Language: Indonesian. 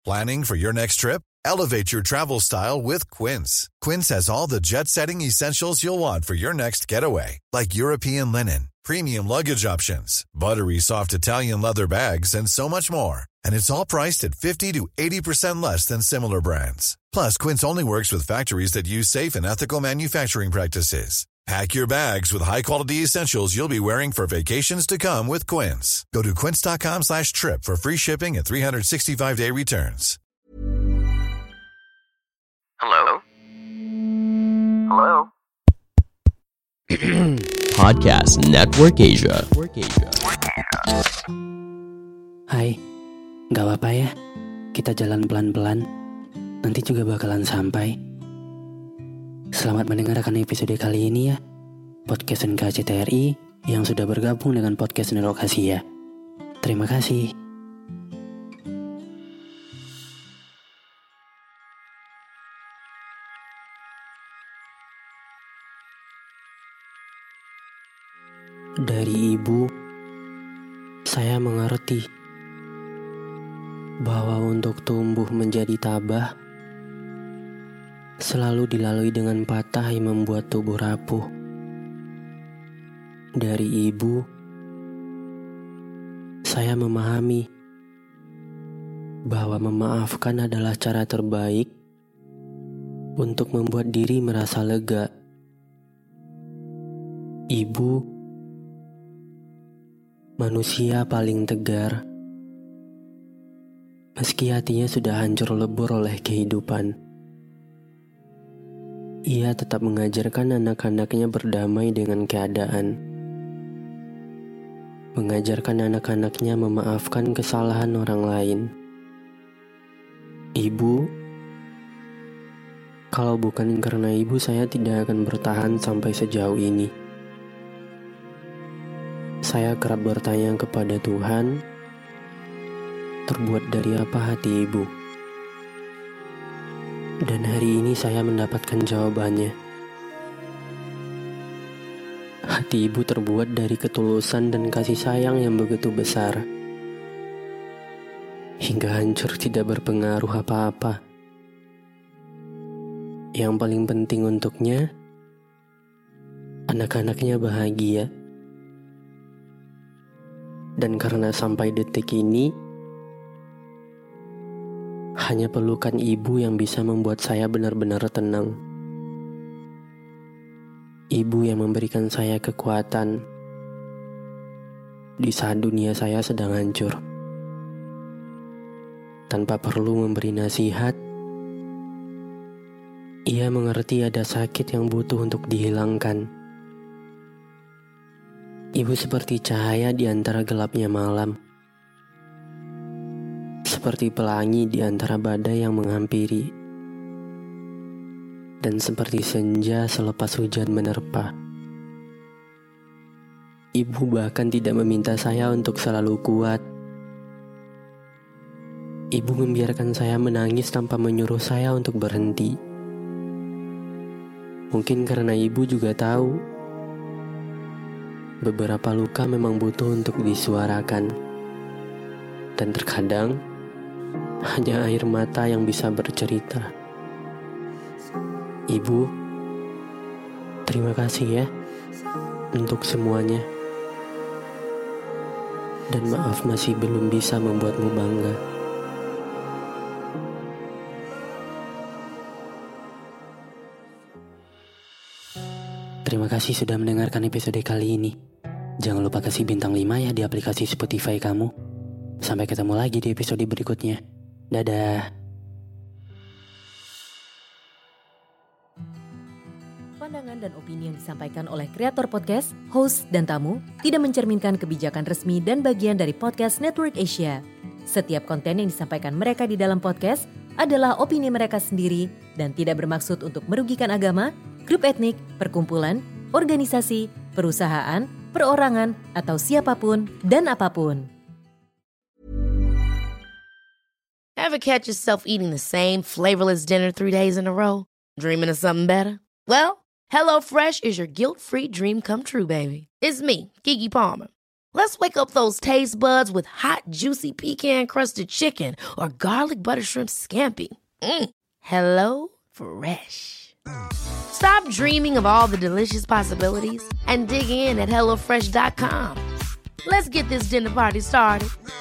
Planning for your next trip? Elevate your travel style with Quince. Quince has all the jet-setting essentials you'll want for your next getaway, like European linen, premium luggage options, buttery soft Italian leather bags, and so much more. And it's all priced at 50 to 80% less than similar brands. Plus, Quince only works with factories that use safe and ethical manufacturing practices. Pack your bags with high-quality essentials you'll be wearing for vacations to come with Quince. Go to quince.com/trip for free shipping and 365-day returns. Hello? Hello? Podcast Network Asia. Hai, gak apa-apa ya, kita jalan pelan-pelan, nanti juga bakalan sampai. Selamat mendengarkan episode kali ini ya, Podcast NKCTRI yang sudah bergabung dengan Podcast Network Asia. Terima kasih. Dari ibu, saya mengerti bahwa untuk tumbuh menjadi tabah selalu dilalui dengan patah yang membuat tubuh rapuh. Dari ibu, saya memahami bahwa memaafkan adalah cara terbaik untuk membuat diri merasa lega. Ibu, manusia paling tegar, meski hatinya sudah hancur lebur oleh kehidupan. Ia tetap mengajarkan anak-anaknya berdamai dengan keadaan. Mengajarkan anak-anaknya memaafkan kesalahan orang lain. Ibu, kalau bukan karena ibu saya tidak akan bertahan sampai sejauh ini. Saya kerap bertanya kepada Tuhan, terbuat dari apa hati ibu? Dan hari ini saya mendapatkan jawabannya. Hati ibu terbuat dari ketulusan dan kasih sayang yang begitu besar, hingga hancur tidak berpengaruh apa-apa. Yang paling penting untuknya, anak-anaknya bahagia. Dan karena sampai detik ini, hanya pelukan ibu yang bisa membuat saya benar-benar tenang. Ibu yang memberikan saya kekuatan di saat dunia saya sedang hancur. Tanpa perlu memberi nasihat, ia mengerti ada sakit yang butuh untuk dihilangkan. Ibu seperti cahaya di antara gelapnya malam. Seperti pelangi di antara badai yang menghampiri, dan seperti senja selepas hujan menerpa. Ibu bahkan tidak meminta saya untuk selalu kuat. Ibu membiarkan saya menangis tanpa menyuruh saya untuk berhenti. Mungkin karena ibu juga tahu beberapa luka memang butuh untuk disuarakan, dan terkadang hanya air mata yang bisa bercerita. Ibu, terima kasih ya untuk semuanya. Dan maaf masih belum bisa membuatmu bangga. Terima kasih sudah mendengarkan episode kali ini. Jangan lupa kasih bintang 5 ya di aplikasi Spotify kamu. Sampai ketemu lagi di episode berikutnya. Dadah. Pandangan dan opini yang disampaikan oleh kreator podcast, host, dan tamu tidak mencerminkan kebijakan resmi dan bagian dari Podcast Network Asia. Setiap konten yang disampaikan mereka di dalam podcast adalah opini mereka sendiri dan tidak bermaksud untuk merugikan agama, grup etnik, perkumpulan, organisasi, perusahaan, perorangan, atau siapapun dan apapun. Ever catch yourself eating the same flavorless dinner 3 days in a row? Dreaming of something better? Well, HelloFresh is your guilt-free dream come true, baby. It's me, Keke Palmer. Let's wake up those taste buds with hot, juicy pecan-crusted chicken or garlic butter shrimp scampi. Hello Fresh. Stop dreaming of all the delicious possibilities and dig in at HelloFresh.com. Let's get this dinner party started.